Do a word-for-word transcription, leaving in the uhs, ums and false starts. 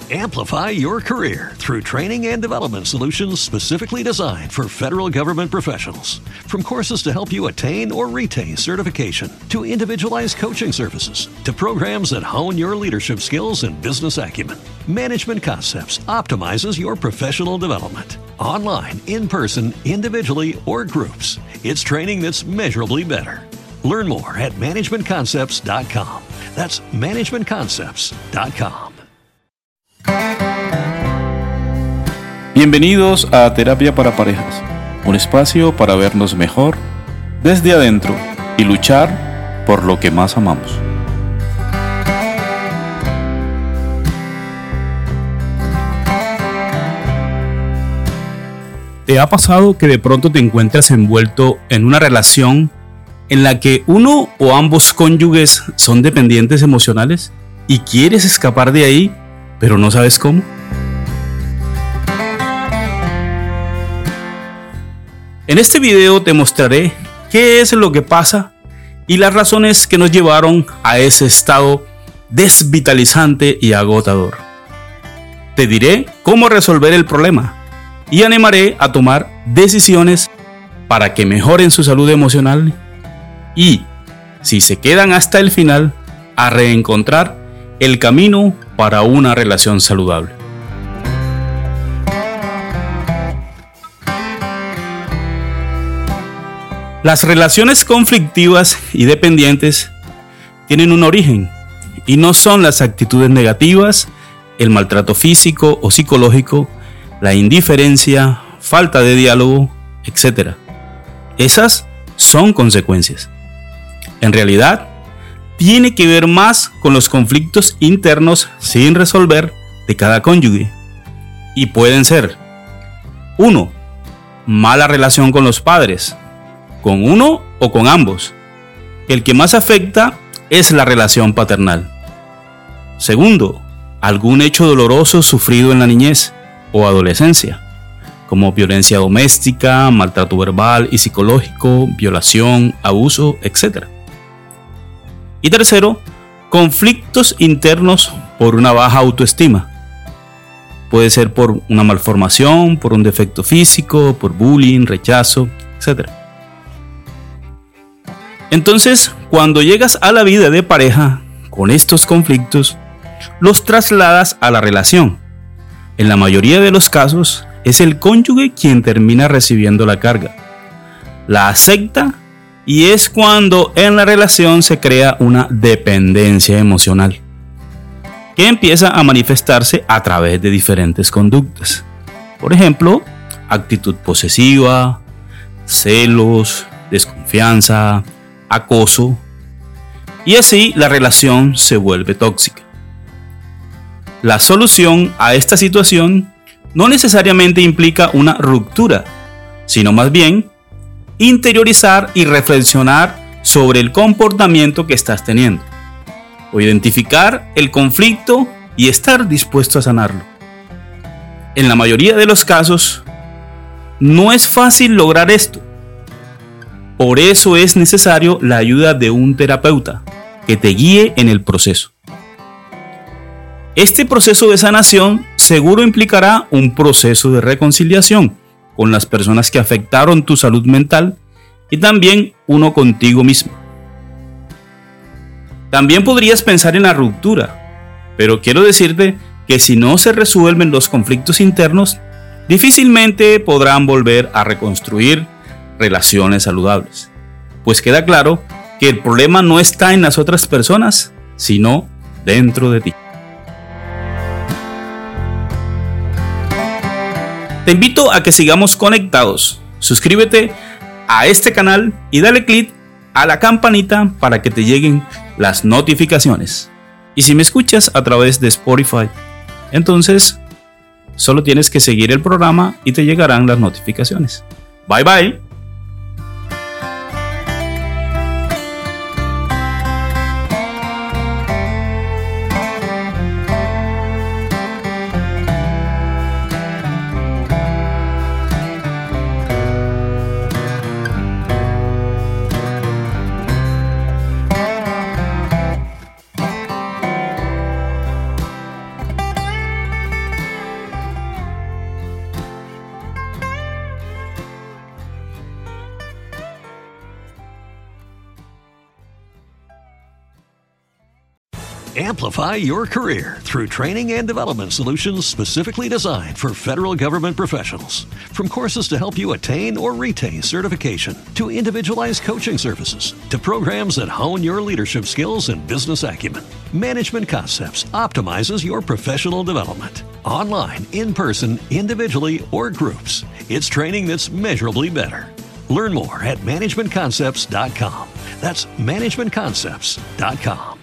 Amplify your career through training and development solutions specifically designed for federal government professionals. From courses to help you attain or retain certification, to individualized coaching services, to programs that hone your leadership skills and business acumen, Management Concepts optimizes your professional development. Online, in person, individually, or groups, it's training that's measurably better. Learn more at management concepts dot com. That's management concepts dot com. Bienvenidos a Terapia para Parejas, un espacio para vernos mejor desde adentro y luchar por lo que más amamos. ¿Te ha pasado que de pronto te encuentras envuelto en una relación en la que uno o ambos cónyuges son dependientes emocionales y quieres escapar de ahí, pero no sabes cómo? En este video te mostraré qué es lo que pasa y las razones que nos llevaron a ese estado desvitalizante y agotador. Te diré cómo resolver el problema y animaré a tomar decisiones para que mejoren su salud emocional y, si se quedan hasta el final, a reencontrar el camino para una relación saludable. Las relaciones conflictivas y dependientes tienen un origen y no son las actitudes negativas, el maltrato físico o psicológico, la indiferencia, falta de diálogo, etcétera. Esas son consecuencias. En realidad, tiene que ver más con los conflictos internos sin resolver de cada cónyuge. Y pueden ser: uno. Mala relación con los padres, con uno o con ambos. El que más afecta es la relación paternal. Segundo, algún hecho doloroso sufrido en la niñez o adolescencia, como violencia doméstica, maltrato verbal y psicológico, violación, abuso, etcétera. Y tercero, conflictos internos por una baja autoestima. Puede ser por una malformación, por un defecto físico, por bullying, rechazo, etcétera. Entonces, cuando llegas a la vida de pareja con estos conflictos, los trasladas a la relación. En la mayoría de los casos, es el cónyuge quien termina recibiendo la carga. La acepta y es cuando en la relación se crea una dependencia emocional, que empieza a manifestarse a través de diferentes conductas. Por ejemplo, actitud posesiva, celos, desconfianza, acoso, y así la relación se vuelve tóxica. La solución a esta situación no necesariamente implica una ruptura, sino más bien interiorizar y reflexionar sobre el comportamiento que estás teniendo, o identificar el conflicto y estar dispuesto a sanarlo. En la mayoría de los casos, no es fácil lograr esto. Por eso es necesario la ayuda de un terapeuta que te guíe en el proceso. Este proceso de sanación seguro implicará un proceso de reconciliación con las personas que afectaron tu salud mental y también uno contigo mismo. También podrías pensar en la ruptura, pero quiero decirte que si no se resuelven los conflictos internos, difícilmente podrán volver a reconstruir relaciones saludables, pues queda claro que el problema no está en las otras personas, sino dentro de ti. Te invito a que sigamos conectados. Suscríbete a este canal y dale click a la campanita para que te lleguen las notificaciones. Y si me escuchas a través de Spotify, entonces solo tienes que seguir el programa y te llegarán las notificaciones. Bye bye. Amplify your career through training and development solutions specifically designed for federal government professionals. From courses to help you attain or retain certification, to individualized coaching services, to programs that hone your leadership skills and business acumen, Management Concepts optimizes your professional development. Online, in person, individually, or groups, it's training that's measurably better. Learn more at management concepts dot com. That's management concepts dot com.